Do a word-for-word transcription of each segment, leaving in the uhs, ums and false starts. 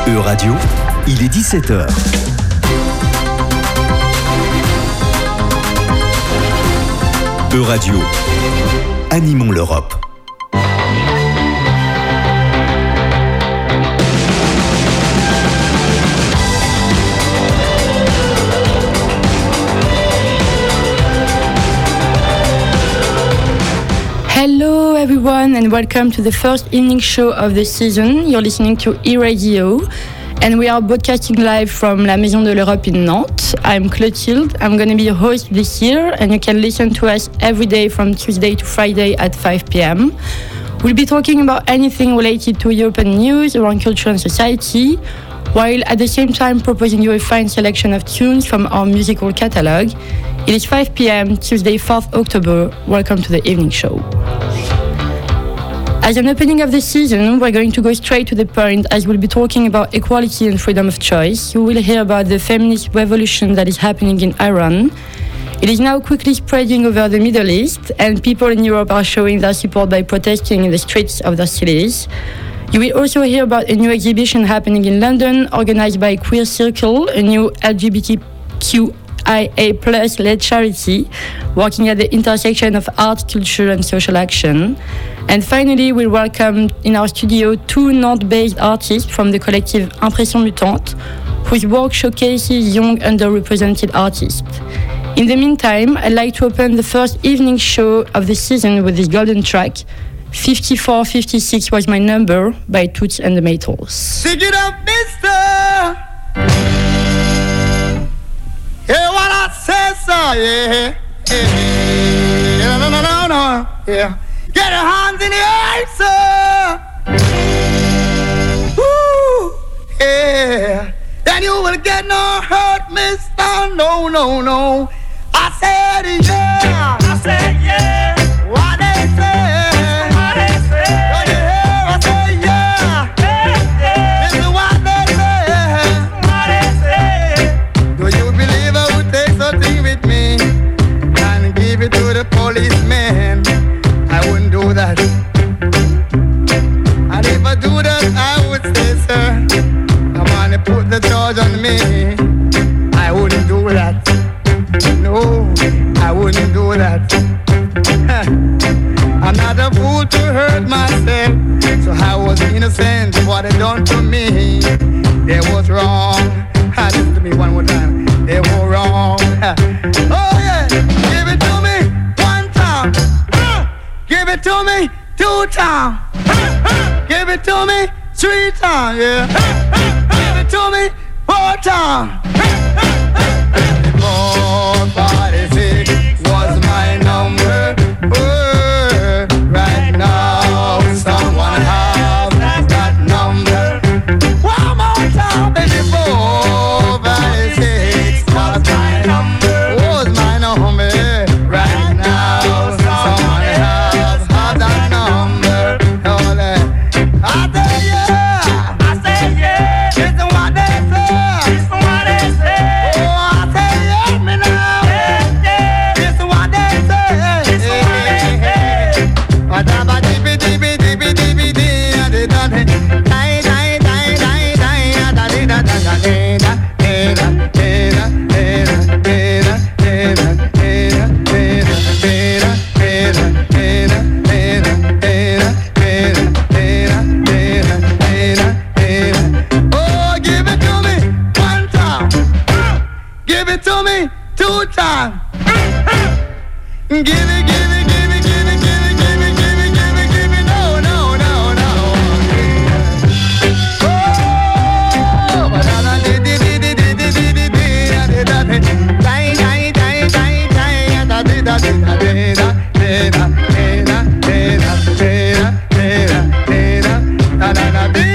E-Radio, il est dix-sept heures. E-Radio, animons l'Europe. Hello everyone and welcome to the first evening show of the season. You're listening to E-Radio and we are broadcasting live from La Maison de l'Europe in Nantes. I'm Clotilde, I'm going to be your host this year and you can listen to us every day from Tuesday to Friday at five p.m. We'll be talking about anything related to European news around culture and society, while at the same time proposing you a fine selection of tunes from our musical catalogue. It is five p.m. Tuesday, fourth of October. Welcome to the evening show. As an opening of the season, we're going to go straight to the point as we'll be talking about equality and freedom of choice. You will hear about the feminist revolution that is happening in Iran. It is now quickly spreading over the Middle East, and people in Europe are showing their support by protesting in the streets of their cities. You will also hear about a new exhibition happening in London, organized by Queer Circle, a new L G B T Q I A plus led charity working at the intersection of art, culture and social action. And finally, we welcome in our studio two Nantes-based artists from the collective Impression Mutante, whose work showcases young underrepresented artists. In the meantime, I'd like to open the first evening show of the season with this golden track, fifty-four fifty-six Was My Number by Toots and the Maytals. Sing it up, mister! Hear what I say, sir, yeah. Yeah, no, no, no, no, yeah. Get your hands in the air, sir. Woo, yeah. Then you will get no hurt, mister. No, no, no. I said, yeah. I said, yeah. What they say. What they say. Don't you hear? I say, yeah. Yeah, yeah. This is what they say. What they say. Do you believe I would take something with me and give it to the policeman? I wouldn't do that. And if I do that, I would say, sir, come on and put the charge on me. I wouldn't do that. No, I wouldn't do that. I'm not a fool to hurt myself, so I was innocent. What they done to me, they was wrong. Listen to me one more time. They were wrong. Oh yeah, give it to me one time. Give it to me two times. Give it to me three times. Yeah. Give it to me four times. Four, five, six was my number. Oh, right now, someone has that number. One more time, baby. Four, five, six was my number. Was my number. Right now, someone has that number. Oh, I say yeah. I say yeah. It's what they say. It's what they say. Oh, I say yeah, me now. Yeah, yeah. It's what they say. It's what they say. Whatever dippy dippy dippy dippy dippy da da da da da da da da da da. Oh, give it to me one time. Give it to me two times. Give it, give it, give it, give it, give it, give it, give it, give it, give it. No, no, no, no. Oh, but I did it, did it, did it, did it, did it, did it. Die, die, die, die, die, da, da, da, da, da, da, da, da, da, da, da.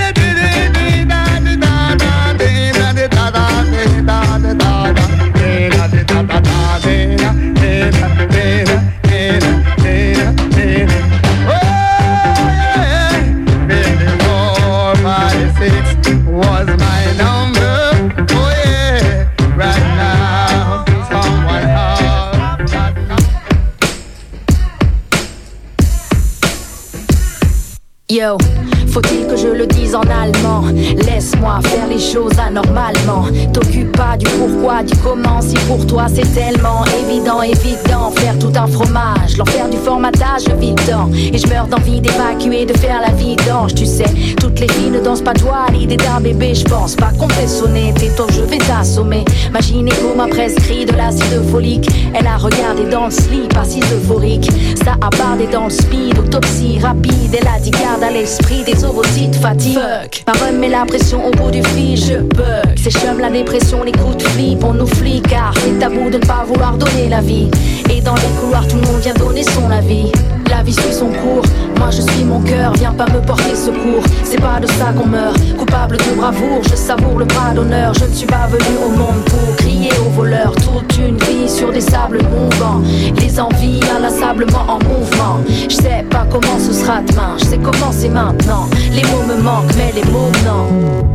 Was my number, oh yeah, right now, someone has that number. Yo, Yo, faut-il que je le dise en allemand? Laisse-moi faire les choses anormalement. T'occupe pas du pourquoi, du comment. Si pour toi c'est tellement évident, évident. Faire tout un fromage, l'enfer du formatage, je vis dedans. Et je meurs d'envie d'évacuer, de faire la vidange. Tu sais, toutes les filles ne dansent pas toi. L'idée d'un bébé, je pense pas qu'on fait sonner. Tes taux, je vais t'assommer. Ma gynéco m'a prescrit de l'acide folique. Elle a regardé dans le slip, assise euphorique. Ça a bardé dans le speed, autopsie rapide. Elle a dit garde à l'esprit des ovocytes fatigue. Fuck, ma remet la pression au bout du fil, je bug. C'est chum la dépression, les coups de flip, on nous flic car c'est tabou de ne pas vouloir donner la vie. Et dans les couloirs tout le monde vient donner son avis. La vie suit son cours, moi je suis mon cœur, viens pas me porter secours. C'est pas de ça qu'on meurt, coupable de bravoure, je savoure le bras d'honneur. Je ne suis pas venu au monde pour crier aux voleurs. Toute une vie sur des sables mouvants, les envies inlassablement en mouvement. Je sais pas comment ce sera demain, je sais comment c'est maintenant. Les mots me manquent mais les mots non.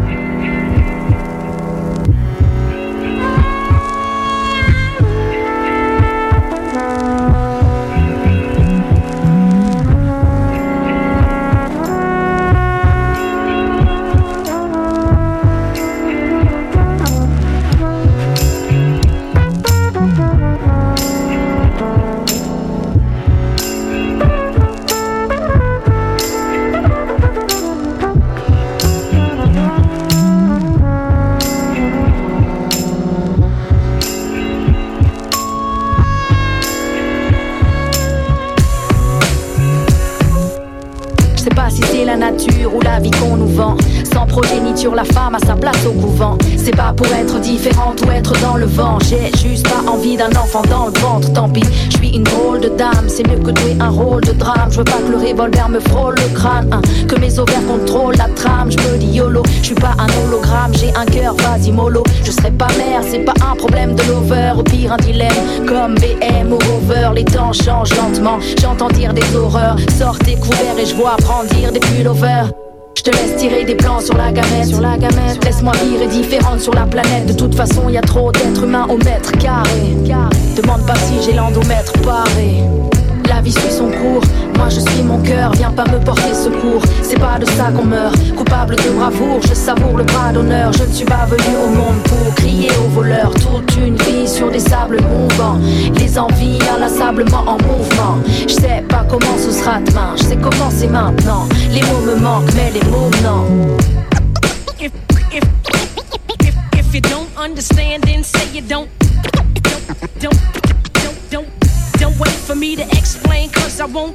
Ou la vie qu'on nous vend, sans progéniture la femme a sa place au couvent. C'est pas pour être différente ou être dans le vent. J'ai juste pas envie d'un enfant dans le ventre. Tant pis, je suis une drôle de dame. C'est mieux que de jouer un rôle de drame. Je veux pas que le revolver me frôle le crâne, hein. Que mes ovaires contrôlent la trame. Je me dis YOLO, je suis pas un hologramme. J'ai un cœur, vas-y mollo. Je serai pas mère, c'est pas un problème de lover. Au pire un dilemme, comme B M ou Rover. Les temps changent lentement, j'entends dire des horreurs. Sortez couverts et je vois brandir des pullovers. Je te laisse tirer des plans sur la gamète, sur la gamète. Laisse-moi vivre différente sur la planète. De toute façon, y a trop d'êtres humains au mètre carré. Demande pas si j'ai l'endomètre paré. La vie suit son cours, moi je suis mon cœur, viens pas me porter secours. C'est pas de ça qu'on meurt, coupable de bravoure, je savoure le bras d'honneur. Je ne suis pas venu au monde pour crier aux voleurs. Toute une vie sur des sables mouvants, les envies inlassablement en mouvement. Je sais pas comment ce sera demain, je sais comment c'est maintenant. Les mots me manquent mais les mots non. If, if, if, if you don't understand then say you don't. Don't, don't, don't, don't. Don't wait for me to explain, cause I won't.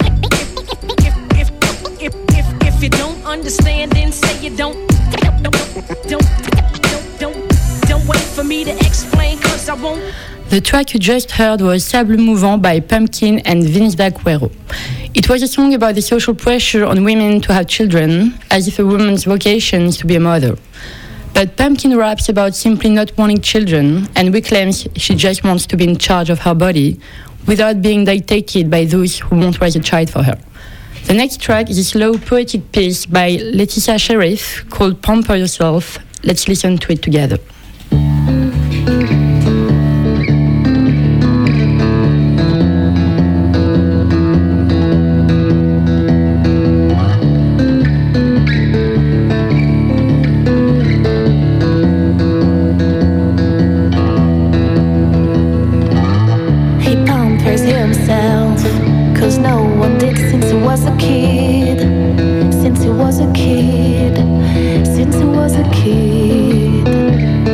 If, if, if, if, if you don't understand, then say you don't. Don't, don't, don't, don't, don't wait for me to explain, cause I won't. The track you just heard was Sable Mouvant by Pumpkin and Vince da Cuero. It was a song about the social pressure on women to have children, as if a woman's vocation is to be a mother. But Pumpkin raps about simply not wanting children, and we claims she just wants to be in charge of her body, without being dictated by those who won't raise a child for her. The next track is a slow poetic piece by Leticia Sheriff called Pamper Yourself. Let's listen to it together. Since he was a kid,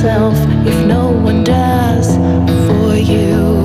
yourself if no one does for you.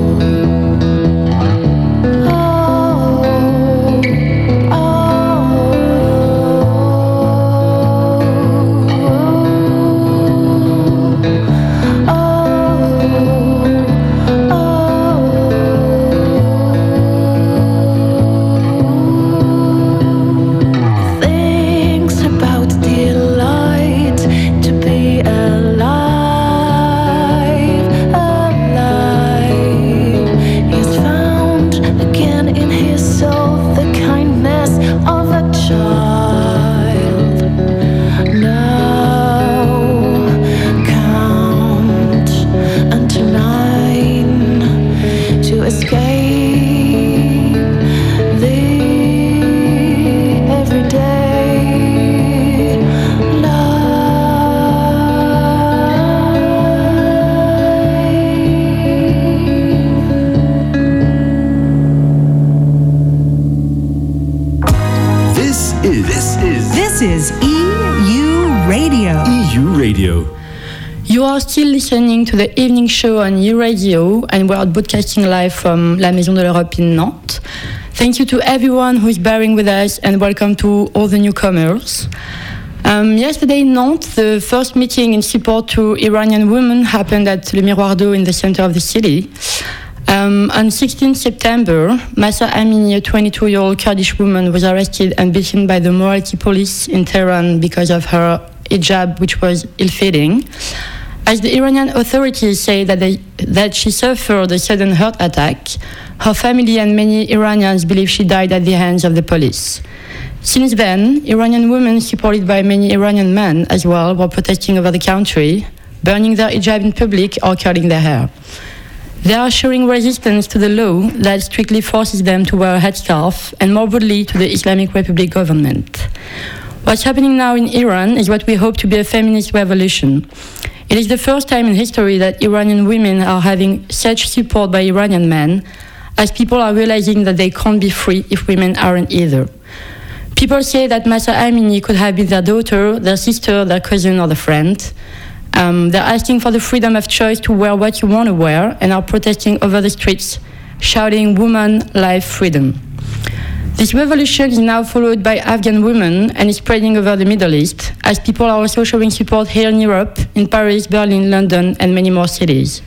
You are still listening to the evening show on E U Radio, and we are broadcasting live from La Maison de l'Europe in Nantes. Thank you to everyone who is bearing with us, and welcome to all the newcomers. Um, yesterday in Nantes, the first meeting in support to Iranian women happened at Le Miroir d'Eau in the center of the city. Um, on sixteenth September, Mahsa Amini, a twenty-two-year-old Kurdish woman, was arrested and beaten by the morality police in Tehran because of her hijab, which was ill-fitting. As the Iranian authorities say that, they, that she suffered a sudden heart attack, her family and many Iranians believe she died at the hands of the police. Since then, Iranian women, supported by many Iranian men as well, were protesting over the country, burning their hijab in public or curling their hair. They are showing resistance to the law that strictly forces them to wear a headscarf, and more broadly to the Islamic Republic government. What's happening now in Iran is what we hope to be a feminist revolution. It is the first time in history that Iranian women are having such support by Iranian men, as people are realizing that they can't be free if women aren't either. People say that Mahsa Amini could have been their daughter, their sister, their cousin, or their friend. Um, they're asking for the freedom of choice to wear what you want to wear, and are protesting over the streets, shouting "Woman, Life, Freedom." This revolution is now followed by Afghan women and is spreading over the Middle East, as people are also showing support here in Europe, in Paris, Berlin, London, and many more cities.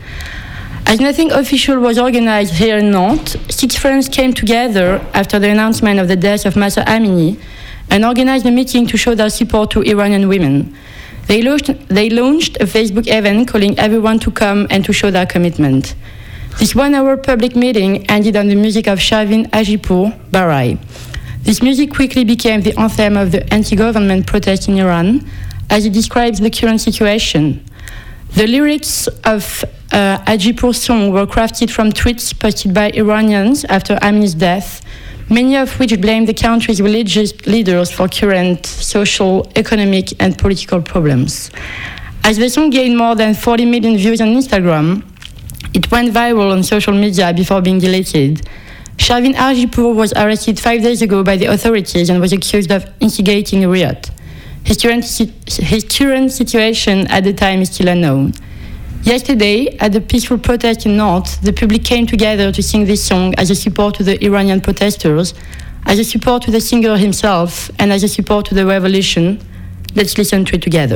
As nothing official was organized here in Nantes, six friends came together after the announcement of the death of Mahsa Amini and organized a meeting to show their support to Iranian women. They launched, they launched a Facebook event calling everyone to come and to show their commitment. This one-hour public meeting ended on the music of Shavin Hajipour, Barai. This music quickly became the anthem of the anti-government protest in Iran, as it describes the current situation. The lyrics of uh, Hajipour's song were crafted from tweets posted by Iranians after Amini's death, many of which blame the country's religious leaders for current social, economic, and political problems. As the song gained more than forty million views on Instagram, it went viral on social media before being deleted. Shavin Hajipour was arrested five days ago by the authorities and was accused of instigating a riot. His current, his current situation at the time is still unknown. Yesterday, at the peaceful protest in Nantes, the public came together to sing this song as a support to the Iranian protesters, as a support to the singer himself, and as a support to the revolution. Let's listen to it together.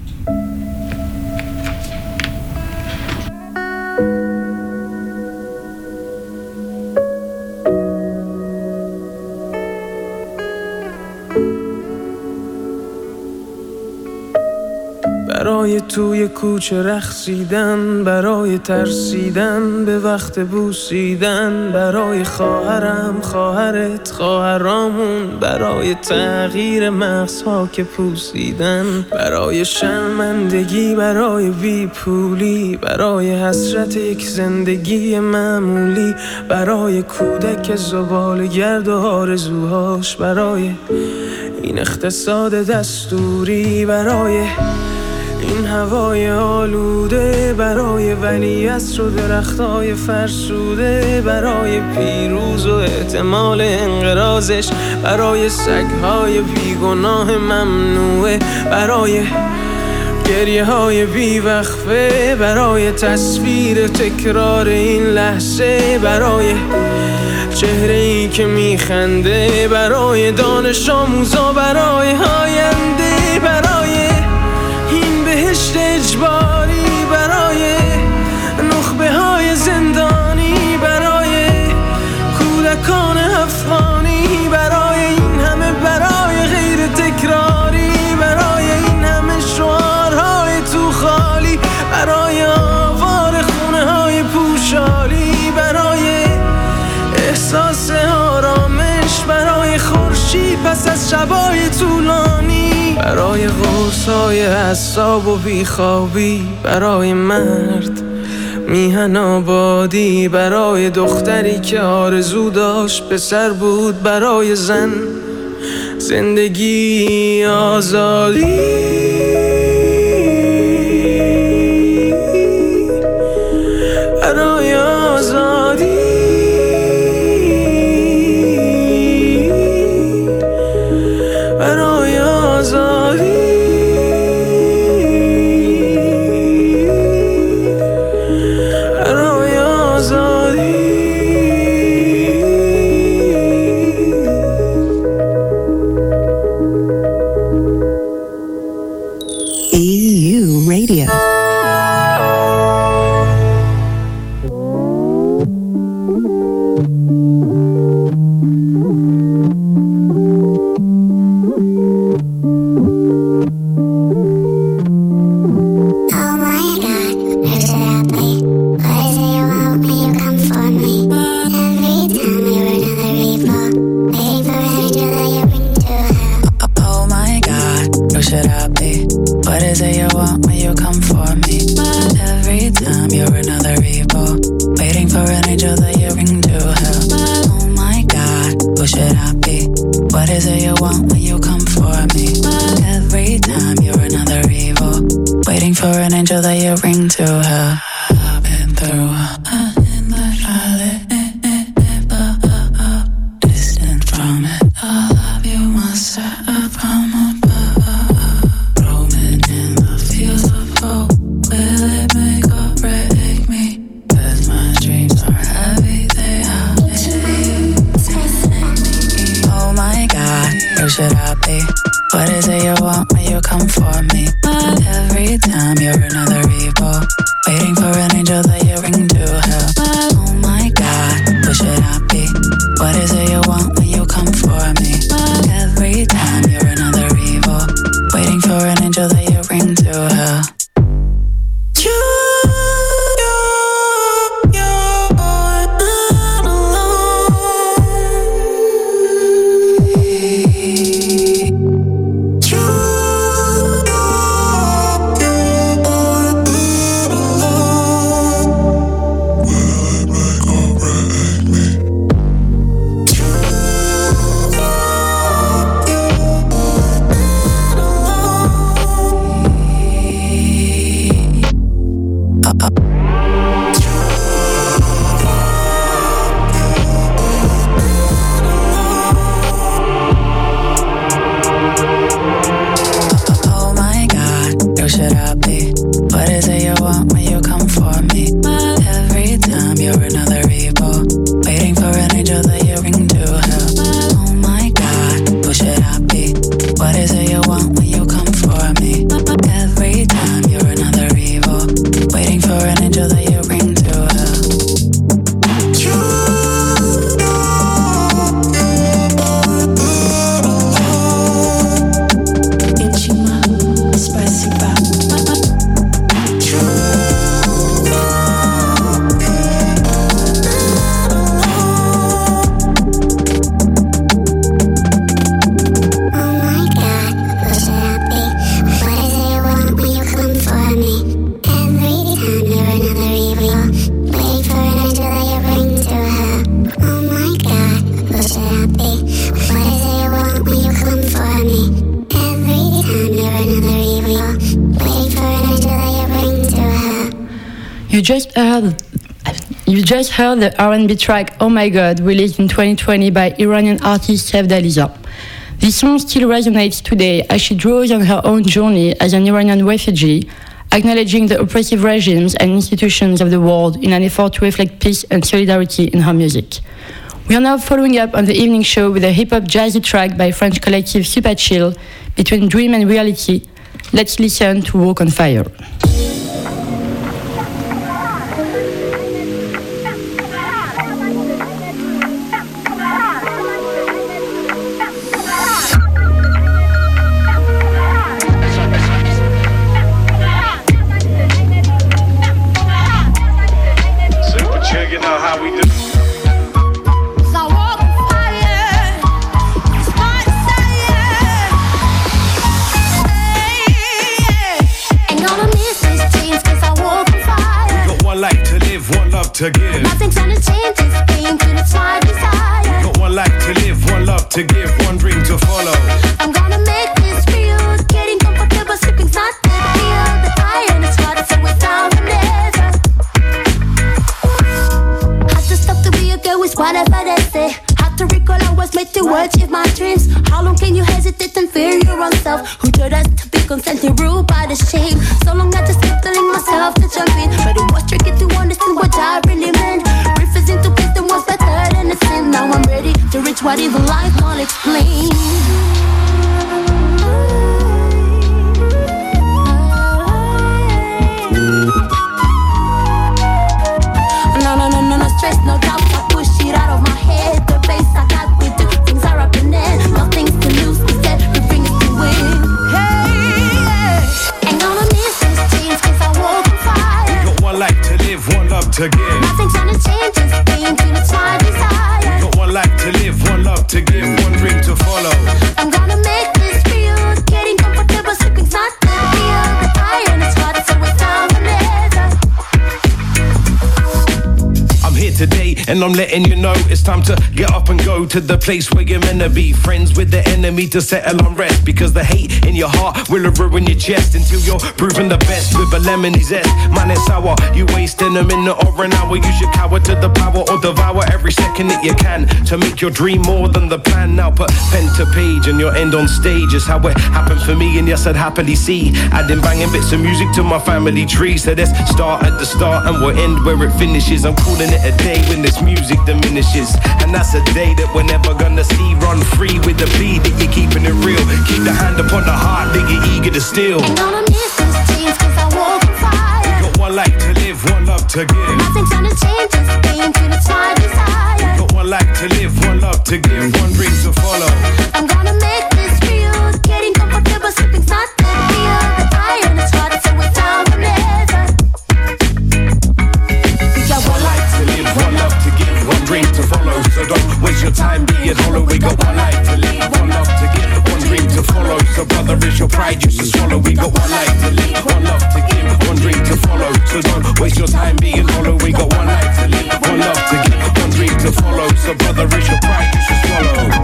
برای توی کوچه رقصیدن، برای ترسیدن به وقت بوسیدن، برای خواهرم خواهرت خواهرامون، برای تغییر مغزها که پوسیدن، برای شرمندگی برای بیپولی، برای حسرت یک زندگی معمولی، برای کودک زباله‌گرد و آرزوهاش، برای این اقتصاد دستوری، برای این هوای آلوده، برای ولیعصر و درختای فرسوده، برای پیروز و احتمال انقراضش، برای سگهای بیگناه ممنوعه، برای گریه های بیوقفه برای تصویر تکرار این لحظه، برای چهره ای که میخنده، برای دانش آموزا، برای آینده، برای این بهشت اجباری، برای نخبه های زندانی، برای کودکان افغانی، برای این همه، برای غیر تکراری، برای این همه شعارهای تو خالی، برای آوار خونه های پوشالی، برای احساس آرامش، برای خورشید پس از شبای طولانی، برای قرصای اعصاب و بیخوابی، برای مرد میهن آبادی، برای دختری که آرزو داشت پسر بود، برای زن زندگی آزادی، برای آزادی، برای آزادی، برای آزادی. E U Radio. You just heard, you just heard the R and B track "Oh My God," released in twenty twenty by Iranian artist Chef Daliza. This song still resonates today as she draws on her own journey as an Iranian refugee, acknowledging the oppressive regimes and institutions of the world in an effort to reflect peace and solidarity in her music. We are now following up on the evening show with a hip-hop jazzy track by French collective Super Chill, Between Dream and Reality. Let's listen to Walk on Fire. To give. Nothing's gonna change this game till it's my desire. Got one life to live, one love to give, one dream to follow. I'm gonna make this real. Getting comfortable, sleeping's not the deal. The iron is hard, so it's down whenever. Had to stop to be a girl with whatever they say. Had to recall I was made to achieve my dreams. How long can you hesitate and fear your own self? Who told us to be constantly ruled by the shame? So long I just kept telling myself to jump in, but it was tricky to understand what I really meant. Refusing to please them was better than the sin. Now I'm ready to reach what even life can't explain. No, no, no, no, no stress, no doubt. I push it out of my head. The pace I got with the things are happening. Nothing's to lose, instead we bring it to win. Hey, yeah. Ain't gonna miss this chance, cause I walk on fire. Got one life to live, one love to give. Nothing's gonna change this game till it's my desire. Got one life to live, one love to give, one dream to follow. I'm gonna make this real. Getting comfortable, sleeping's not the deal. The iron is hard, so it's down whenever. I'm here today and I'm letting you know it's time to get up and go to the place where you're meant to be. Friends with the enemy to settle on rest, because the hate in your heart will ruin your chest until you're proving the best with a lemony zest. Man, it's sour, you wasting a minute or an hour. You should cower to the power or devour every second that you can to make your dream more than the plan. Now put pen to page and you'll end on stage. Is how it happened for me, and yes, I'd happily see adding banging bits of music to my family tree. So let's start at the start and we'll end where it finishes. I'm calling it a day when this music diminishes, and that's a day that we're never gonna see. Run free with the beat that you're keeping it real. Keep the hand upon the heart that you're eager to steal. Ain't gonna miss this chance, cause I walk on fire. Got one life to live, one love to give. Nothing's gonna change this game till it's my desire. Got one life to live, one love to give, one dream to follow. I'm gonna make this real. Getting comfortable, sleeping's not the deal. The iron is hard, so it's down whenever. We got one life to live, One love to give, one dream to follow. So don't waste your time being hollow. We got one life to live, one love to give, one dream to follow. So brother, is your pride used to swallow. We got one life to live, one love to give, one dream to follow. So don't waste your time being hollow. We got one life to live, one love to give, one dream to follow. So brother, is your pride used to swallow.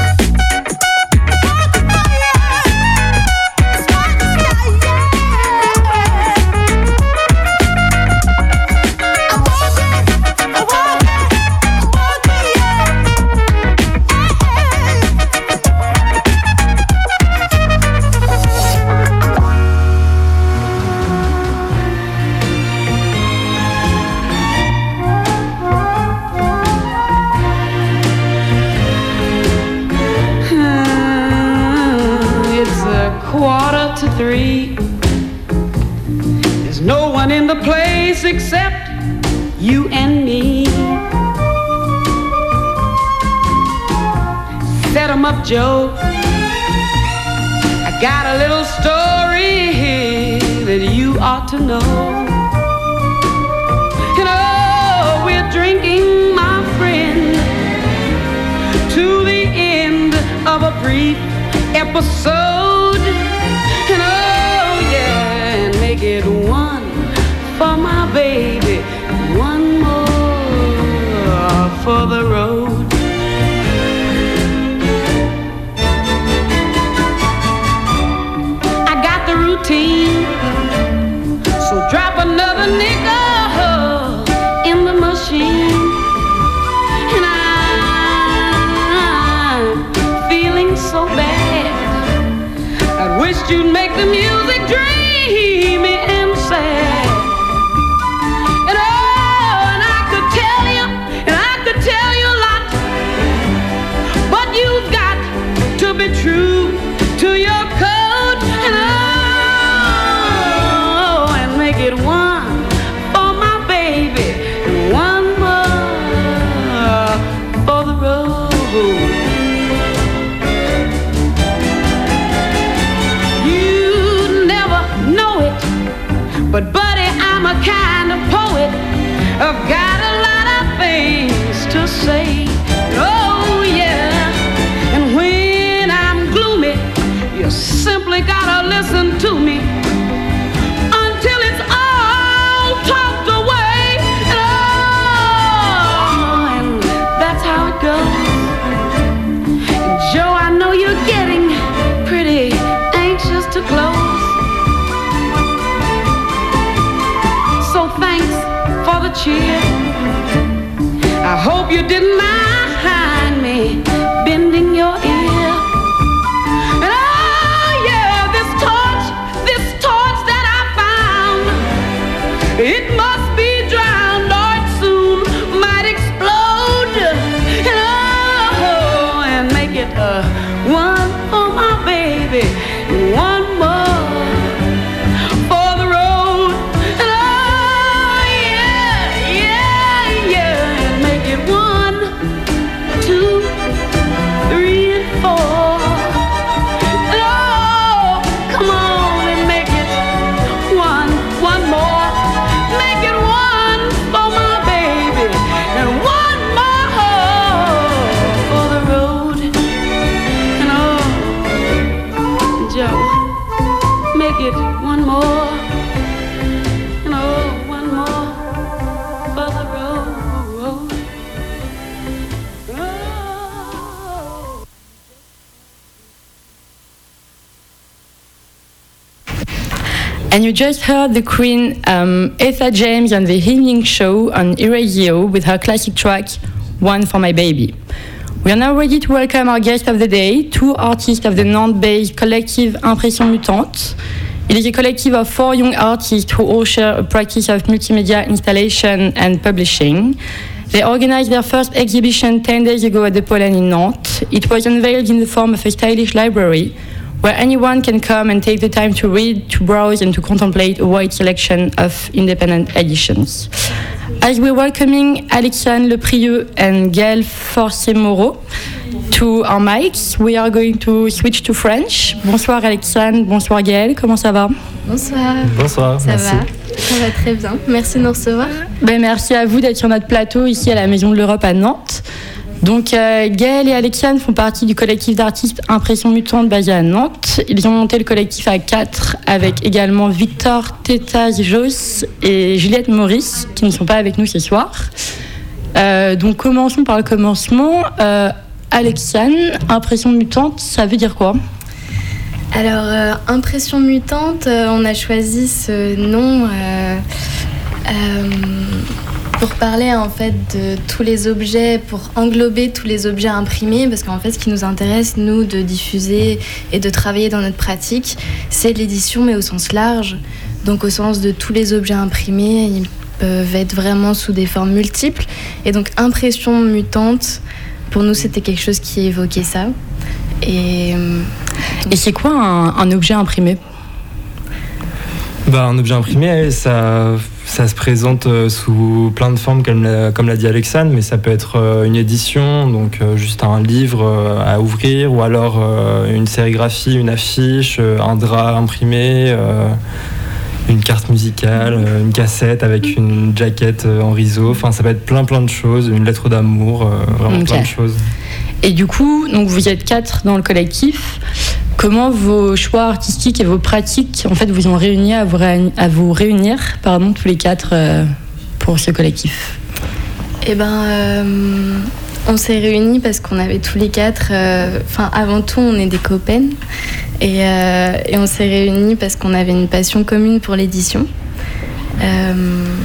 Quarter to three. There's no one in the place except you and me. Set 'em up, Joe. I got a little story that you ought to know. You know, we're drinking, my friend, to the end of a brief episode. And oh yeah, and make it one for my baby, one more for the road. I got the routine, so drop another nickel in the machine. And I'm feeling so bad. promised you'd make the music dreamy and sad. And oh, and I could tell you, and I could tell you a lot, but you've got to be true to your code. And oh, and make it one for my baby, and one more for the road. But buddy, I'm a kind of poet. I've got a lot of things to say. Oh yeah. And when I'm gloomy, you simply gotta listen to me until it's all talked away. And oh, and that's how it goes. Joe, I know you're getting pretty anxious to close. Thanks for the cheer. I hope you didn't mind me bending your ear. And oh yeah, this torch, this torch that I found, it must be drowned or it soon might explode. And oh, and make it uh, one for my baby, one more. And you just heard the Queen, um, Etta James, on the evening show on E-Radio with her classic track, One for My Baby. We are now ready to welcome our guest of the day, two artists of the Nantes-based collective Impression Mutante. It is a collective of four young artists who all share a practice of multimedia installation and publishing. They organized their first exhibition ten days ago at the Pollen in Nantes. It was unveiled in the form of a stylish library where anyone can come and take the time to read, to browse, and to contemplate a wide selection of independent editions. As we're welcoming Alexiane Leprieux and Gaëlle Forcé-Moreau to our mics, we are going to switch to French. Bonsoir Alexiane, bonsoir Gaëlle, comment ça va? Bonsoir. Bonsoir, ça merci. va Ça va très bien, merci de nous recevoir. Ben, merci à vous d'être sur notre plateau ici à la Maison de l'Europe à Nantes. Donc, euh, Gaëlle et Alexiane font partie du collectif d'artistes Impression Mutante basé à Nantes. Ils ont monté le collectif à quatre avec également Victor Tétas-Josse et Juliette Maurice qui ne sont pas avec nous ce soir. Euh, donc, commençons par le commencement. Euh, Alexiane, Impression Mutante, ça veut dire quoi ? Alors, euh, Impression Mutante, euh, on a choisi ce nom euh, euh, pour parler en fait de tous les objets, pour englober tous les objets imprimés, parce qu'en fait, ce qui nous intéresse, nous, de diffuser et de travailler dans notre pratique, c'est l'édition, mais au sens large. Donc, au sens de tous les objets imprimés, ils peuvent être vraiment sous des formes multiples. Et donc, Impression Mutante, pour nous, c'était quelque chose qui évoquait ça. Et, Et c'est quoi un, un objet imprimé ? Bah, un objet imprimé, ça, ça se présente sous plein de formes, comme l'a, comme l'a dit Alexiane, mais ça peut être une édition, donc juste un livre à ouvrir, ou alors une sérigraphie, une affiche, un drap imprimé, une carte musicale, une cassette avec une jaquette en rideau. Enfin, ça peut être plein plein de choses, une lettre d'amour, vraiment okay. plein de choses. Et du coup, donc vous êtes quatre dans le collectif. Comment vos choix artistiques et vos pratiques, en fait, vous ont réuni à vous, réunir, à vous réunir, pardon, tous les quatre euh, pour ce collectif ? Eh ben, euh, on s'est réunis parce qu'on avait tous les quatre. Enfin, euh, avant tout, on est des copains, et, euh, et on s'est réunis parce qu'on avait une passion commune pour l'édition. Euh,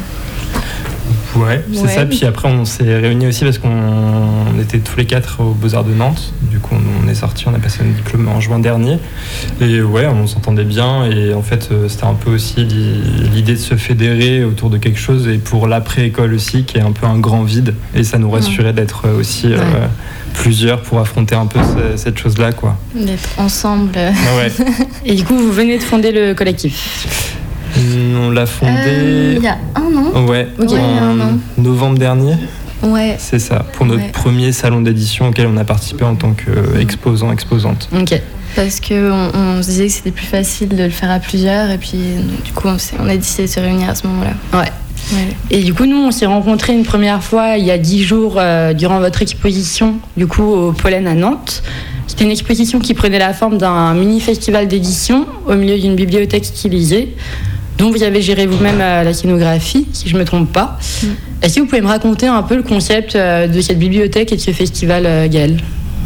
Ouais, c'est ouais. ça. Puis après, on s'est réunis aussi parce qu'on était tous les quatre aux Beaux-Arts de Nantes. Du coup, on on est sorti, on a passé notre diplôme en juin dernier. Et ouais, on s'entendait bien. Et en fait, c'était un peu aussi l'idée de se fédérer autour de quelque chose. Et pour l'après-école aussi, qui est un peu un grand vide. Et ça nous rassurait d'être aussi... Ouais. Euh, plusieurs pour affronter un peu ce, cette chose-là, quoi. D'être ensemble. Ouais. Et du coup, vous venez de fonder le collectif. On l'a fondé... Euh, il y a un an. Ouais, okay. en un an. novembre dernier. Ouais. C'est ça, pour notre ouais. premier salon d'édition auquel on a participé en tant qu'exposant, exposante. Ok. Parce qu'on on se disait que c'était plus facile de le faire à plusieurs, et puis du coup, on, on a décidé de se réunir à ce moment-là. Ouais. Ouais. Et du coup, nous, on s'est rencontrés une première fois il y a dix jours euh, durant votre exposition, du coup, au Pollen à Nantes. C'était une exposition qui prenait la forme d'un mini-festival d'édition au milieu d'une bibliothèque stylisée, dont vous avez géré vous-même euh, la scénographie, si je ne me trompe pas. Mm. Est-ce que vous pouvez me raconter un peu le concept euh, de cette bibliothèque et de ce festival, euh, Gaël ?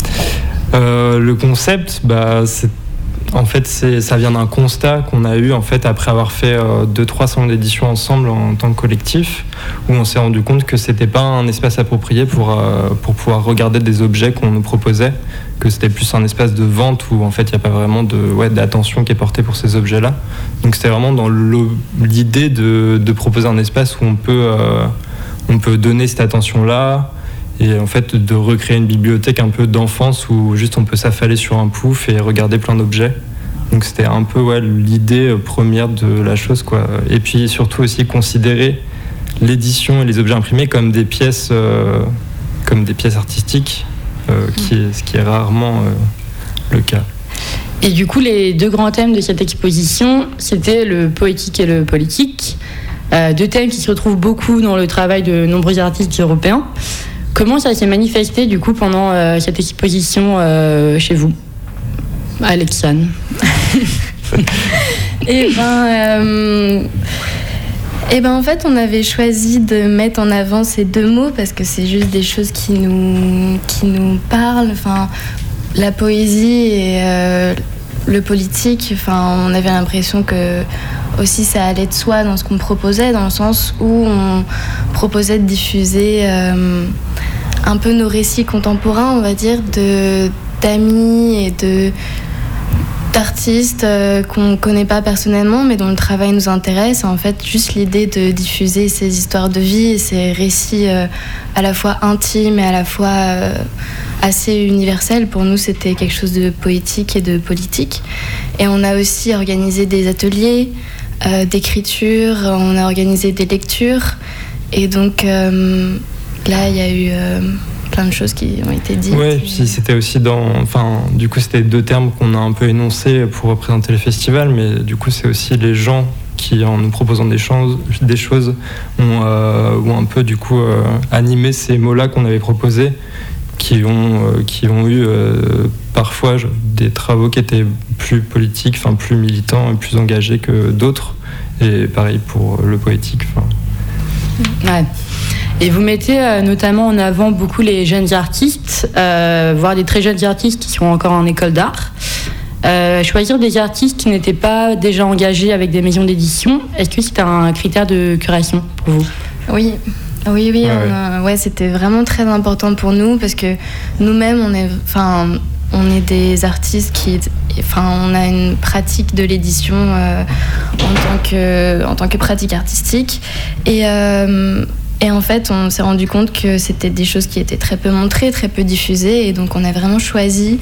euh, Le concept, bah, c'est En fait, c'est, ça vient d'un constat qu'on a eu en fait, après avoir fait euh, deux, trois salons d'édition ensemble en, en tant que collectif, où on s'est rendu compte que c'était pas un espace approprié pour, euh, pour pouvoir regarder des objets qu'on nous proposait, que c'était plus un espace de vente où en fait, il n'y a pas vraiment de, ouais, d'attention qui est portée pour ces objets-là. Donc c'était vraiment dans l'idée de, de proposer un espace où on peut, euh, on peut donner cette attention-là, et en fait de recréer une bibliothèque un peu d'enfance où juste on peut s'affaler sur un pouf et regarder plein d'objets. Donc c'était un peu ouais, l'idée première de la chose, quoi. Et puis surtout aussi considérer l'édition et les objets imprimés comme des pièces, euh, comme des pièces artistiques, euh, qui est, ce qui est rarement euh, le cas. Et du coup, les deux grands thèmes de cette exposition, c'était le poétique et le politique, euh, deux thèmes qui se retrouvent beaucoup dans le travail de nombreux artistes européens. Comment ça s'est manifesté du coup pendant euh, cette exposition euh, chez vous, Alexane? Eh ben, euh, eh ben, en fait, on avait choisi de mettre en avant ces deux mots parce que c'est juste des choses qui nous, qui nous parlent. Enfin, la poésie et euh, le politique. Enfin, on avait l'impression que aussi ça allait de soi dans ce qu'on proposait, dans le sens où on proposait de diffuser euh, un peu nos récits contemporains, on va dire, de, d'amis et de, d'artistes euh, qu'on ne connaît pas personnellement, mais dont le travail nous intéresse. En fait, juste l'idée de diffuser ces histoires de vie et ces récits euh, à la fois intimes et à la fois euh, assez universels, pour nous, c'était quelque chose de poétique et de politique. Et on a aussi organisé des ateliers euh, d'écriture, on a organisé des lectures. Et donc, euh, là, il y a eu... Euh, plein de choses qui ont été dites. Oui, puis c'était aussi dans... Enfin, du coup, c'était deux termes qu'on a un peu énoncés pour représenter le festival, mais du coup, c'est aussi les gens qui, en nous proposant des choses, des choses ont, euh, ont un peu, du coup, euh, animé ces mots-là qu'on avait proposés, qui ont, euh, qui ont eu euh, parfois des travaux qui étaient plus politiques, enfin, plus militants et plus engagés que d'autres. Et pareil pour le poétique. Ouais. Et vous mettez euh, notamment en avant beaucoup les jeunes artistes, euh, voire des très jeunes artistes qui sont encore en école d'art. Euh, choisir des artistes qui n'étaient pas déjà engagés avec des maisons d'édition, est-ce que c'est un critère de curation pour vous ? Oui. Oui, oui, ouais, on a, ouais, c'était vraiment très important pour nous parce que nous-mêmes, on est, enfin, on est des artistes qui, enfin, on a une pratique de l'édition euh, en tant que, en tant que pratique artistique et euh, Et en fait, on s'est rendu compte que c'était des choses qui étaient très peu montrées, très peu diffusées. Et donc, on a vraiment choisi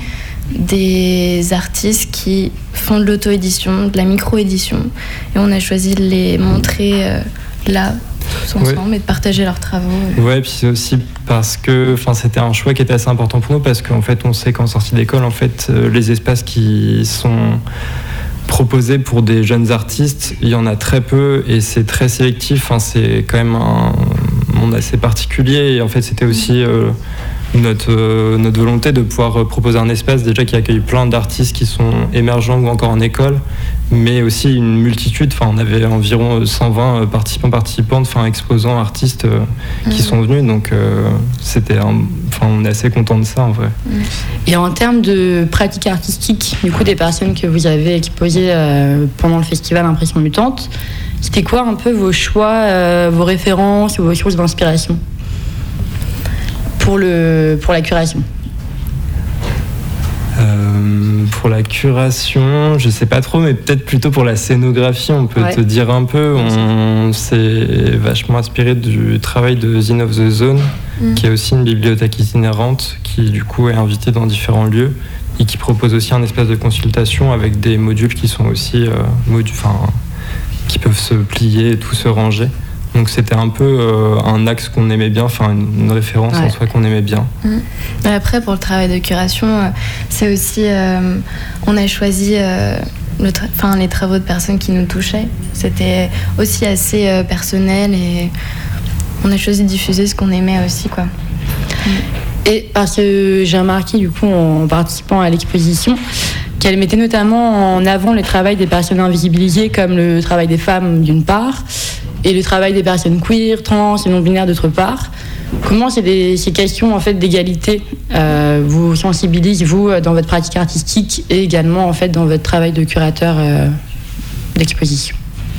des artistes qui font de l'auto-édition, de la micro-édition. Et on a choisi de les montrer euh, là, tous ensemble, ouais. Et de partager leurs travaux. Ouais, puis c'est aussi parce que c'était un choix qui était assez important pour nous, parce qu'en fait, on sait qu'en sortie d'école, en fait, euh, les espaces qui sont... proposé pour des jeunes artistes, il y en a très peu et c'est très sélectif. Enfin, c'est quand même un monde assez particulier et en fait c'était aussi euh, notre, euh, notre volonté de pouvoir proposer un espace déjà qui accueille plein d'artistes qui sont émergents ou encore en école, mais aussi une multitude. Enfin, on avait environ cent vingt participants, participantes, enfin exposants, artistes euh, mmh. qui sont venus. Donc euh, c'était un... enfin, on est assez contents de ça en vrai. Et en termes de pratique artistique, du coup des personnes que vous avez exposées euh, pendant le festival Impression Mutante, c'était quoi un peu vos choix, euh, vos références ou vos sources d'inspiration pour, le, pour la curation ? Euh, pour la curation, je sais pas trop, mais peut-être plutôt pour la scénographie, on peut ouais. te dire un peu. On s'est vachement inspiré du travail de Zine of the Zone, mmh. qui est aussi une bibliothèque itinérante, qui du coup est invitée dans différents lieux et qui propose aussi un espace de consultation avec des modules qui sont aussi euh, modu- qui peuvent se plier et tout se ranger. Donc c'était un peu euh, un axe qu'on aimait bien, enfin une, une référence ouais. en soi qu'on aimait bien. Mmh. Après pour le travail de curation, euh, c'est aussi, euh, on a choisi euh, le tra- enfin, les travaux de personnes qui nous touchaient. C'était aussi assez euh, personnel et on a choisi de diffuser ce qu'on aimait aussi, quoi. Mmh. Et parce que j'ai remarqué du coup en participant à l'exposition qu'elle mettait notamment en avant le travail des personnes invisibilisées comme le travail des femmes d'une part et le travail des personnes queer, trans et non-binaires d'autre part. Comment ces, des, ces questions en fait, d'égalité euh, vous sensibilisent, vous, dans votre pratique artistique et également en fait, dans votre travail de curateur euh, d'exposition?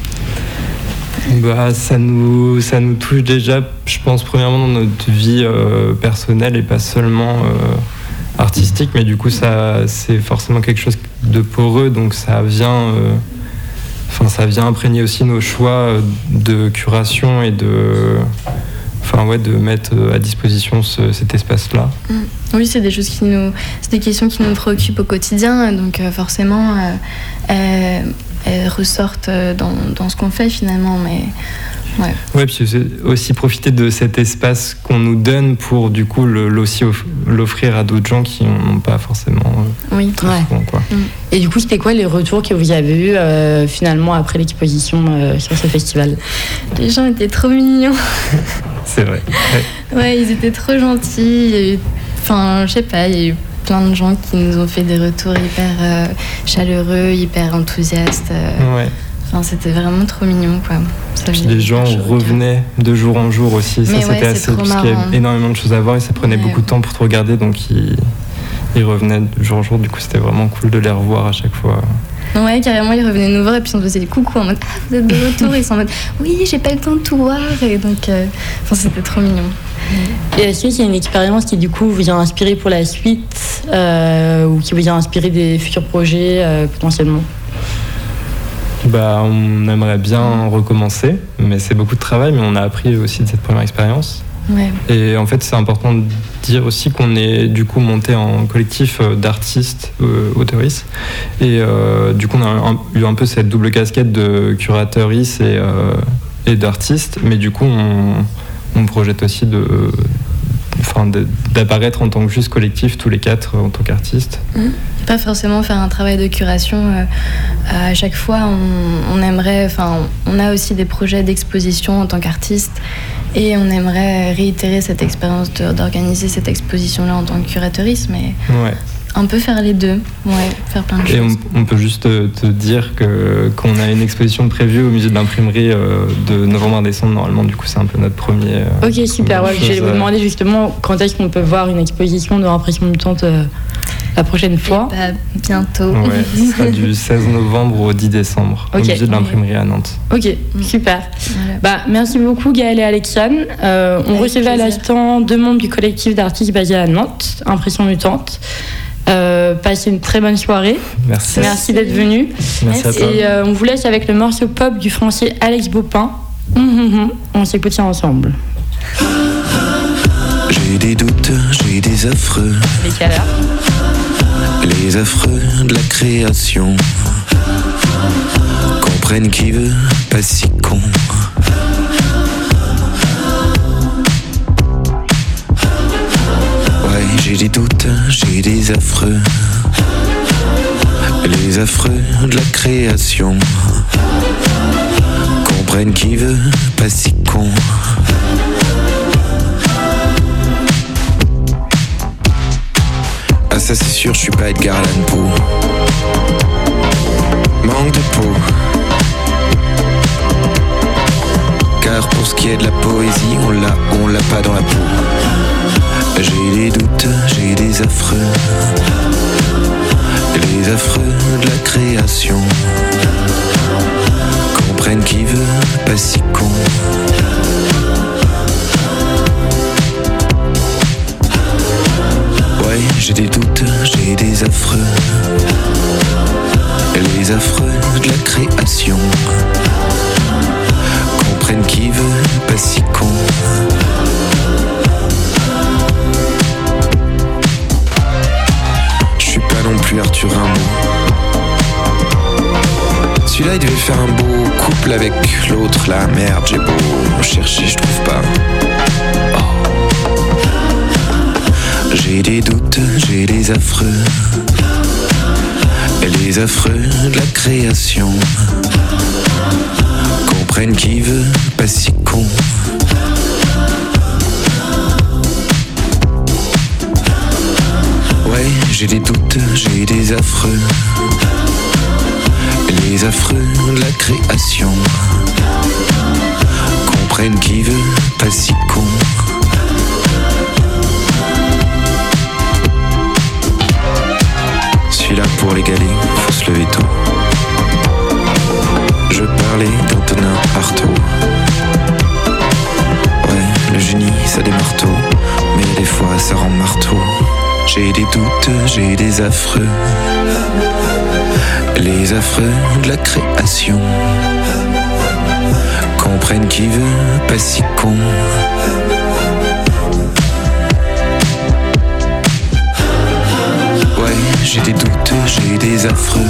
Bah, ça nous, ça nous touche déjà, je pense, premièrement dans notre vie euh, personnelle et pas seulement euh, artistique, mais du coup, ça, c'est forcément quelque chose de poreux, donc ça vient... Euh, Enfin, ça vient imprégner aussi nos choix de curation et de, enfin ouais, de mettre à disposition ce, cet espace-là. Mmh. Oui, c'est des choses qui nous, c'est des questions qui nous préoccupent au quotidien, donc euh, forcément, euh, elles, elles ressortent dans, dans ce qu'on fait finalement, mais. Ouais. Ouais, puis c'est aussi profiter de cet espace qu'on nous donne pour du coup le, l'aussi off- l'offrir à d'autres gens qui n'ont pas forcément. Euh, oui. Ouais. Souvent, quoi. Mm. Et du coup, c'était quoi les retours que vous avez eus euh, finalement après l'exposition euh, sur ce festival? Les gens étaient trop mignons. C'est vrai. Ouais. Ouais, ils étaient trop gentils. Enfin, je sais pas, il y a eu plein de gens qui nous ont fait des retours hyper euh, chaleureux, hyper enthousiastes. Euh, ouais. Enfin, c'était vraiment trop mignon, quoi. Ça Puis les gens revenaient de jour en jour aussi. Ça, mais c'était ouais, assez. Parce qu'il y avait énormément de choses à voir et ça prenait ouais. beaucoup de temps pour te regarder. Donc, ils, ils revenaient de jour en jour. Du coup, c'était vraiment cool de les revoir à chaque fois. Ouais, carrément, ils revenaient nous voir et puis on faisait des coucou en mode ah, vous êtes de retour. Ils sont en mode oui, j'ai pas eu le temps de tout voir. Et donc, euh, enfin, c'était trop mignon. Et est-ce qu'il y a une expérience qui, du coup, vous a inspiré pour la suite euh, ou qui vous a inspiré des futurs projets euh, potentiellement? Bah, on aimerait bien recommencer, mais c'est beaucoup de travail, mais on a appris aussi de cette première expérience. Ouais. Et en fait, c'est important de dire aussi qu'on est du coup monté en collectif d'artistes, euh, auteuristes, et euh, du coup on a un, eu un peu cette double casquette de curateuriste et, euh, et d'artiste, mais du coup on, on projette aussi de, enfin, de, d'apparaître en tant que juste collectif tous les quatre en tant qu'artistes. Mmh. Pas forcément faire un travail de curation euh, à chaque fois. On, on aimerait, enfin, on a aussi des projets d'exposition en tant qu'artiste et on aimerait réitérer cette expérience de, d'organiser cette exposition-là en tant que curateuriste, mais ouais. un peu faire les deux, ouais, faire plein de et choses. On, on peut juste te, te dire que qu'on a une exposition prévue au musée de l'imprimerie euh, de novembre à décembre normalement. Du coup, c'est un peu notre premier. Euh, ok, super. Ouais, je vais vous demander justement quand est-ce qu'on peut voir une exposition de l'impression mutante euh, la prochaine fois. Bah, bientôt. Ouais, ce sera du seize novembre au dix décembre okay. au musée de l'imprimerie à Nantes. Ok, super. Voilà. Bah, merci beaucoup Gaëlle et Alexandre. Euh, on Avec recevait plaisir. À l'instant deux membres du collectif d'artistes basés à Nantes, Impression Mutante. Euh, passez une très bonne soirée. Merci. Merci d'être venu. Merci à toi. Et euh, on vous laisse avec le morceau pop du français Alex Baupin. Mmh, mmh, mmh. On s'écoute ça ensemble. J'ai des doutes, j'ai des affreux. Les caleurs. Les affreux de la création. Comprennent qui veut, pas si con. Ouais, j'ai des doutes, j'ai des affreux. Les affreux de la création. Comprennent qui veut, pas si con. Ah ça c'est sûr, je suis pas Edgar Allan Poe. Manque de peau. Car pour ce qui est de la poésie, on l'a, on l'a pas dans la peau. J'ai des doutes, j'ai des affreux. Les affreux de la création. Comprennent qui veut, pas si con. Ouais, j'ai des doutes, j'ai des affreux. les affreux de la création comprennent qui veut, pas si con. Je suis pas non plus Arthur Rimbaud. Celui-là il devait faire un beau couple avec l'autre là. Merde, j'ai beau chercher, je trouve pas. Oh. J'ai des doutes, j'ai des affreux. Les affreux de la création comprennent qui veut, pas si con. Ouais, j'ai des doutes, j'ai des affreux. Les affreux de la création comprennent qui veut, pas si con. Celui-là pour les galets, faut se lever tôt. Je parlais d'Antonin Artaud. Ouais, le génie ça démarre tôt, mais des fois ça rend marteau. J'ai des doutes, j'ai des affreux. Les affreux de la création comprennent qui veut, pas si con. Ouais, j'ai des doutes, j'ai des affreux.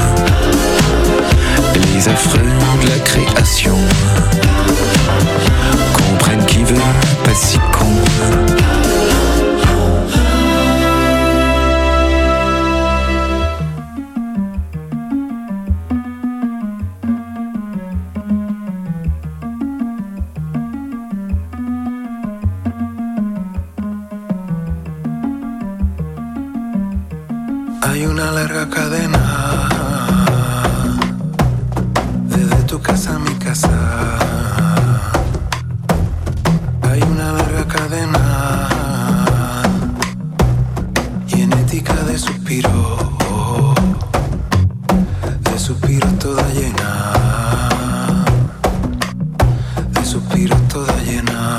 Les affreux de la création comprennent qui veut, pas si con. Hay una larga cadena desde tu casa a mi casa. Hay una larga cadena genética de suspiros, de suspiros toda llena, de suspiros toda llena.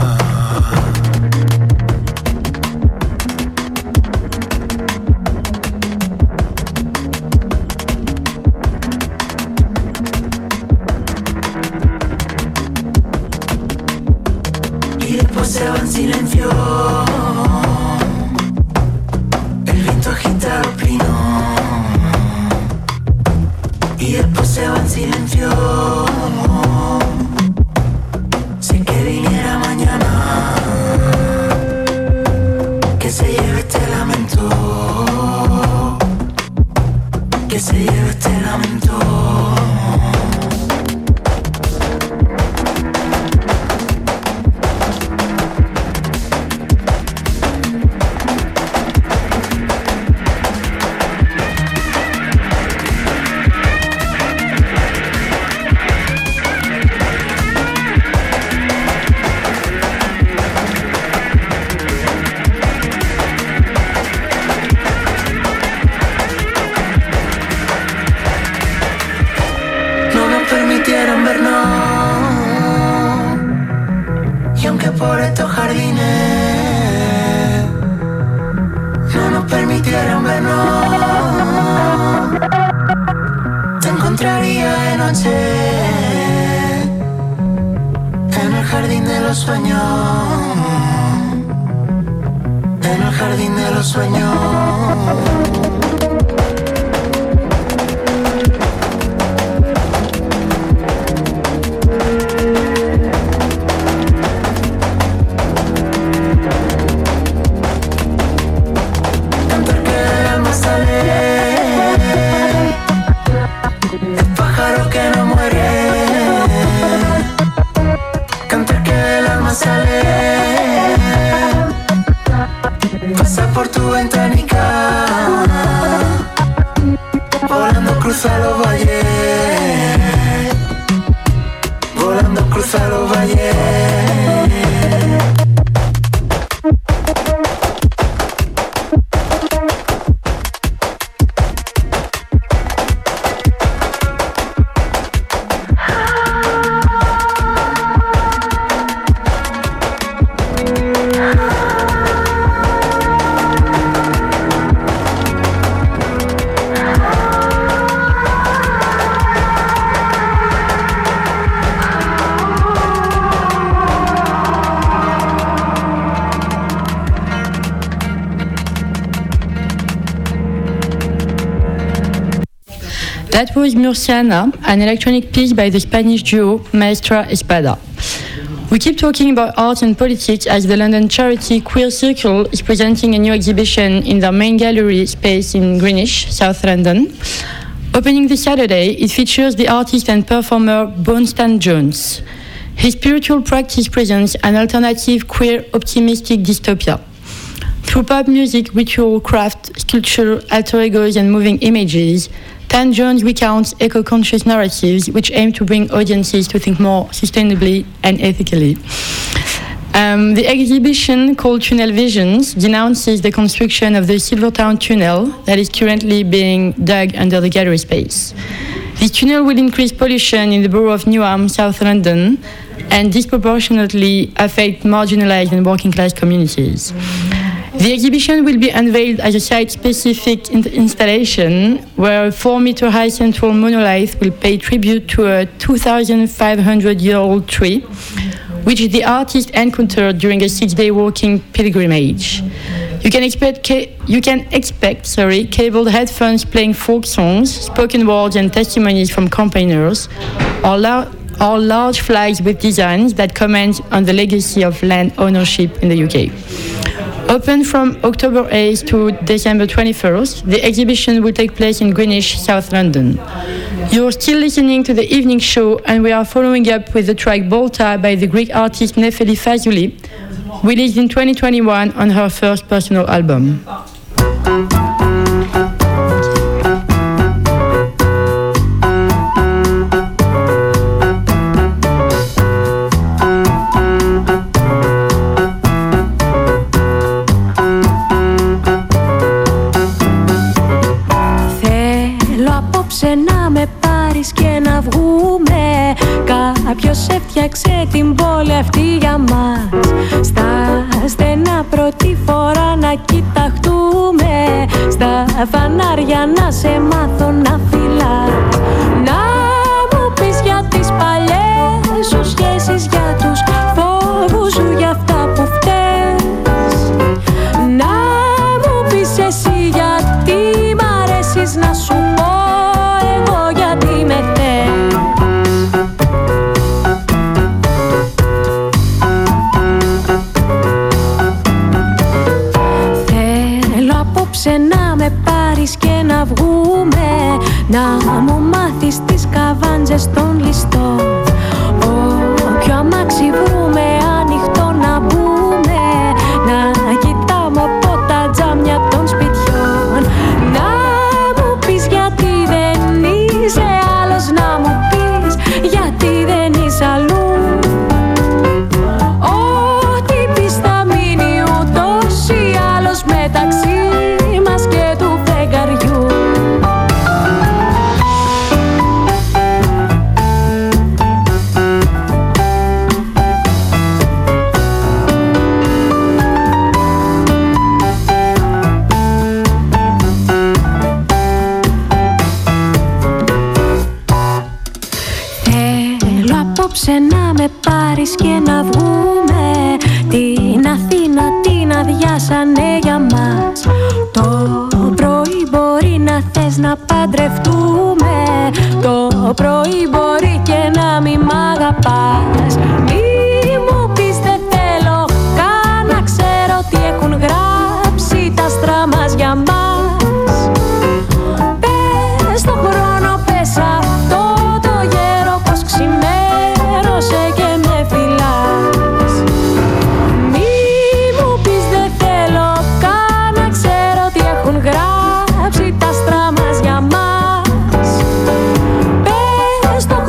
Se va en silencio, el viento agita los pinos y después se va en silencio. Si es que viniera mañana, que se lleve este lamento, que se lleve este lamento. Por estos jardines no nos permitieron vernos, te encontraría de noche en el jardín de los sueños, en el jardín de los sueños. Cruza los valles, volando cruza los valles. That was Murciana, an electronic piece by the Spanish duo Maestra Espada. We keep talking about art and politics as the London charity Queer Circle is presenting a new exhibition in their main gallery space in Greenwich, South London. Opening this Saturday, it features the artist and performer Bonstan Jones. His spiritual practice presents an alternative, queer, optimistic dystopia. Through pop music, ritual, craft, sculpture, alter egos, and moving images, Tan Jones recounts eco-conscious narratives which aim to bring audiences to think more sustainably and ethically. Um, the exhibition, called Tunnel Visions, denounces the construction of the Silvertown Tunnel that is currently being dug under the gallery space. This tunnel will increase pollution in the borough of Newham, South London, and disproportionately affect marginalised and working-class communities. The exhibition will be unveiled as a site-specific in- installation where a four-metre-high central monolith will pay tribute to a two thousand five hundred year old tree, which the artist encountered during a six-day walking pilgrimage. You can expect, ca- you can expect sorry, cabled headphones playing folk songs, spoken words and testimonies from campaigners, or, la- or large flags with designs that comment on the legacy of land ownership in the U K. Open from October eighth to December twenty-first, the exhibition will take place in Greenwich, South London. You're still listening to the evening show, and we are following up with the track Bolta by the Greek artist Nefeli Fazuli, released in twenty twenty-one on her first personal album. Να με πάρεις και να βγούμε. Κάποιος έφτιαξε την πόλη αυτή για μας. Στα στενά πρώτη φορά να κοιταχτούμε. Στα φανάρια να σε μάθω να φυλάς. Να μου πεις για τις παλιές σου σχέσεις, για τους φόβους σου, για αυτά που φταίς. Να μου πεις εσύ γιατί μ' αρέσεις, να σου πω γιατί με θες. Θέλω απόψε να με πάρεις και να βγούμε. Να μου μάθεις τις καβάντζες των ληστών. Όποιο αμάξι βρούμε ανοιχτό να μπούμε. Να κοιτάμε από τα τζάμια των σπιτιών. Να μου πεις γιατί δεν είσαι άλλος, να μου πεις γιατί δεν είσαι αλλού. Ό,τι πεις θα μείνει ούτως ή άλλως μεταξύ μας και του φεγγαριού. Απόψε να με πάρεις και να βγούμε. Την Αθήνα την αδειάσανε για μας. Το πρωί μπορεί να θες να παντρευτούμε. Το πρωί μπορεί και να μη μ' αγαπάς. Μη μου πεις δεν θέλω καν να ξέρω τι έχουν γράψει τα άστρα μας για μας. Πες τον χρόνο, πες αυτό το γέρο πως ξημέρωσε και με φυλάς. Μη μου πεις δεν θέλω καν να ξέρω τι έχουν γράψει τα άστρα μας για μας. Πες τον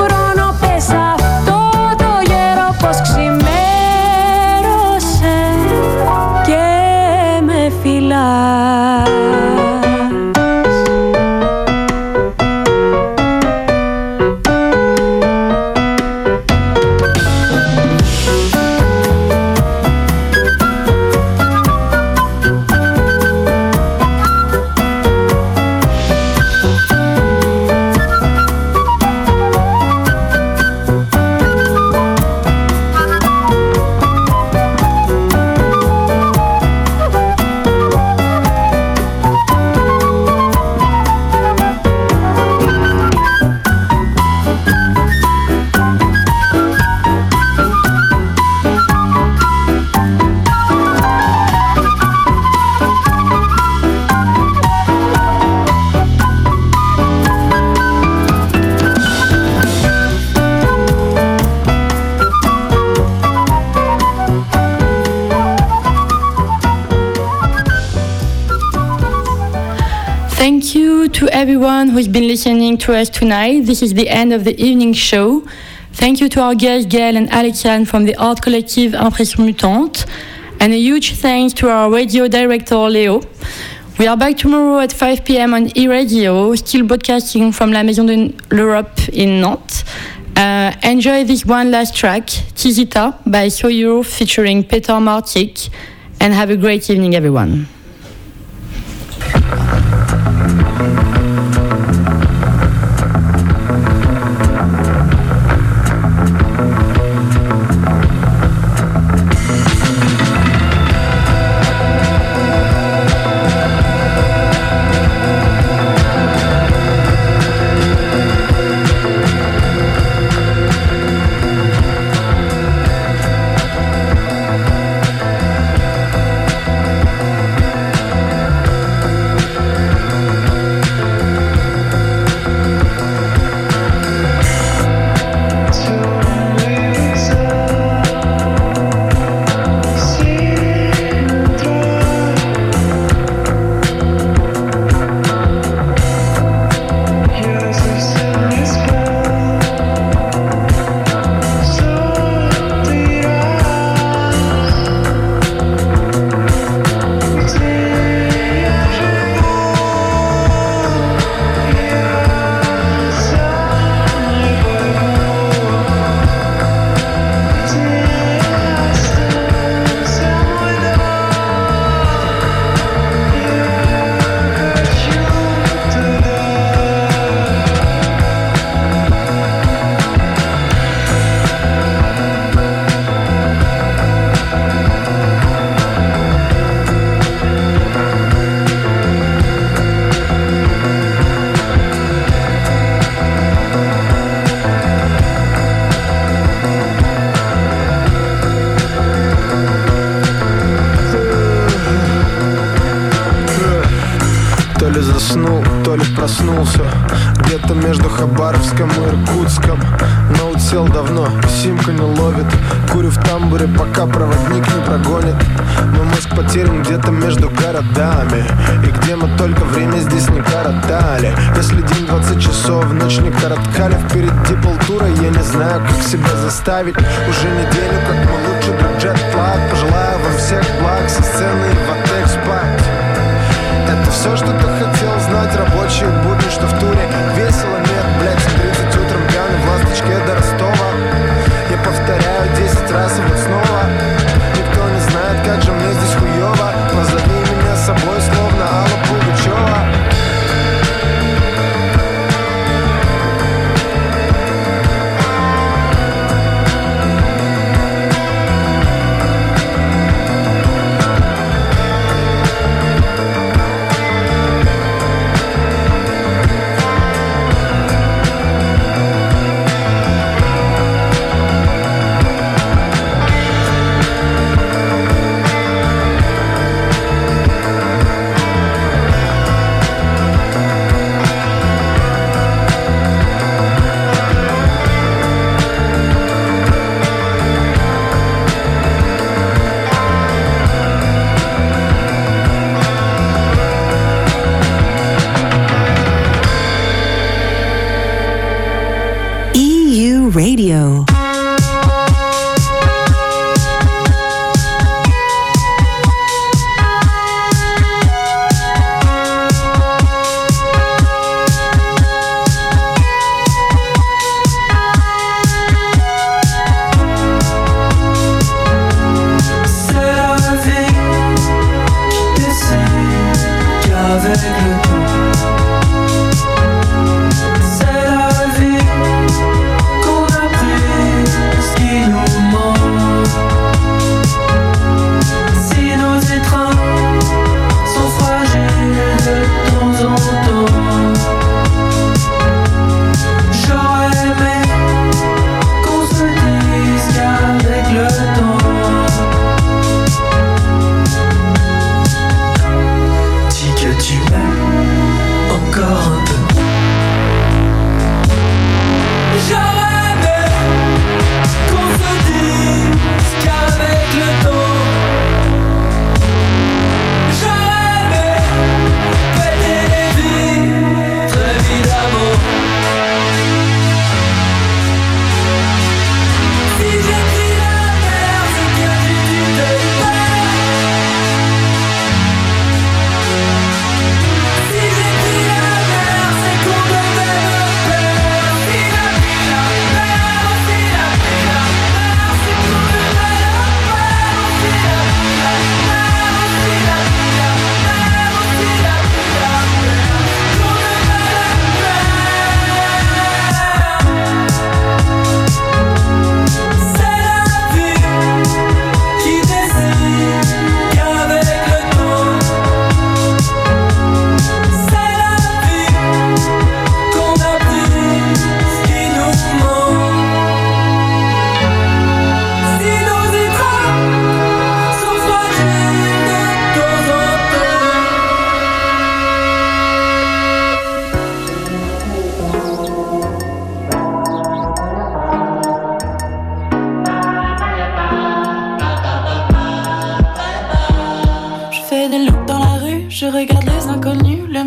to everyone who's been listening to us tonight. This is the end of the evening show. Thank you to our guests Gaël and Alexiane from the art collective Impression Mutante. And a huge thanks to our radio director Léo. We are back tomorrow at five p.m. on e-radio, still broadcasting from La Maison de l'Europe in Nantes. Uh, enjoy this one last track, Tizita by Soyuro featuring Peter Martik, and have a great evening, everyone. Проснулся где-то между Хабаровском и Иркутском. Ноут сел давно, симка не ловит. Курю в тамбуре, пока проводник не прогонит. Мой мозг потерян где-то между городами. И где мы только время здесь не коротали. Если день двадцать часов, ночь не короткали. Впереди полтура, я не знаю, как себя заставить. Уже неделю, как мы лучше друг джет-плаг. Пожелаю вам всех благ, со сцены и в отель спать. Это все, что ты хотел знать. Рабочие будни, что в туре. Весело, нет, блядь, в тридцать утром пьяный в ласточке до Ростова. Я повторяю десять раз и вот снова. Никто не знает, как же мне здесь хуёво. Назови меня собой, словно Алла Пугачёва. Radio. C'est la vie qu'on a pris.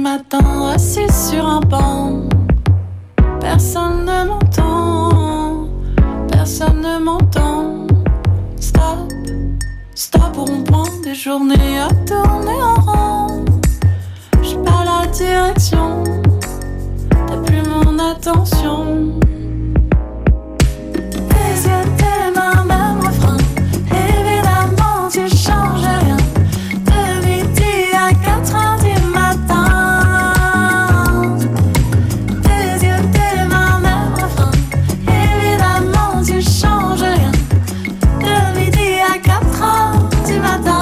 matin, assis sur un banc. Personne ne m'entend, personne ne m'entend. Stop, stop pour on prend des journées à tourner en rond. J'ai pas la direction, t'as plus mon attention. Tes yeux, tes mains, même refrain. Évidemment tu changes rien. De midi à quatre heures du matin. Tes yeux, tes mains, même refrain. Évidemment tu changes rien. De midi à quatre heures du matin.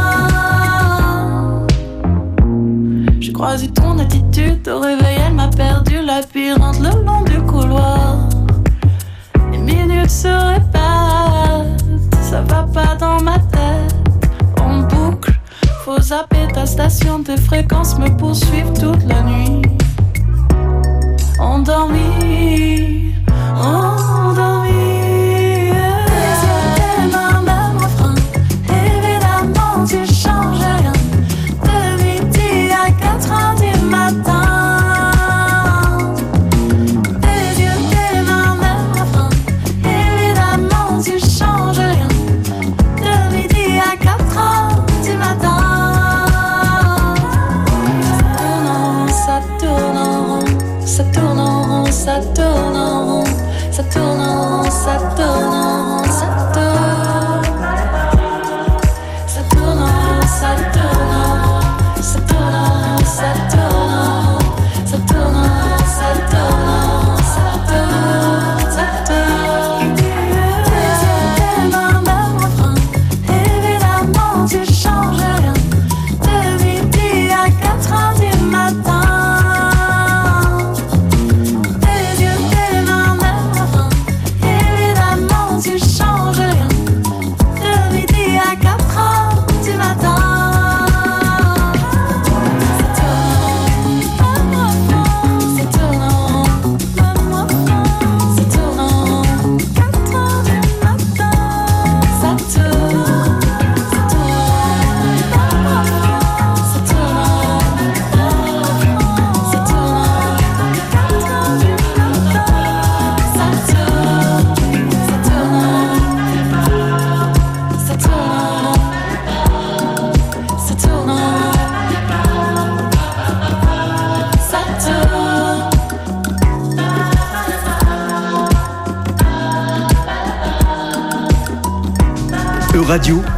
J'ai croisé ton attitude au réveil, elle m'a perdu labyrinthe le long du couloir. Les minutes se répètent, ça va pas dans ma tête. En boucle, faut zapper ta station, tes fréquences me poursuivent toute la nuit. Endormi, endormi. Tes yeux, tes mains, même refrain. Évidemment tu changes rien. De midi à quatre heures du matin. Tes yeux, tes mains, même refrain. Évidemment tu changes rien. De midi à quatre heures du matin. Ça tourne en rond, ça tourne en rond, ça tourne en rond, ça tourne en rond, ça tourne en rond, ça tourne. Ça tourne en rond, ça tourne en rond, ça tourne en rond, ça tourne en rond, ça tourne en rond, ça tourne en rond, ça tourne, ça tourne. Tes yeux, tes mains, même refrain. Évidemment tu changes rien. De midi à quatre heures du matin. Tes yeux, tes mains, même refrain. Évidemment tu changes rien. De midi à quatre heures du matin. Ça tourne en rond, même refrain. Ça tourne en rond, quatre heures du matin. Ça tourne, ça tourne, même refrain. Ça tourne en rond, ça tourne en rond, quatre heures du matin. Ça tourne, ça tourne en rond, ça tourne en rond, ça tourne en rond, ça tourne. E-Radio,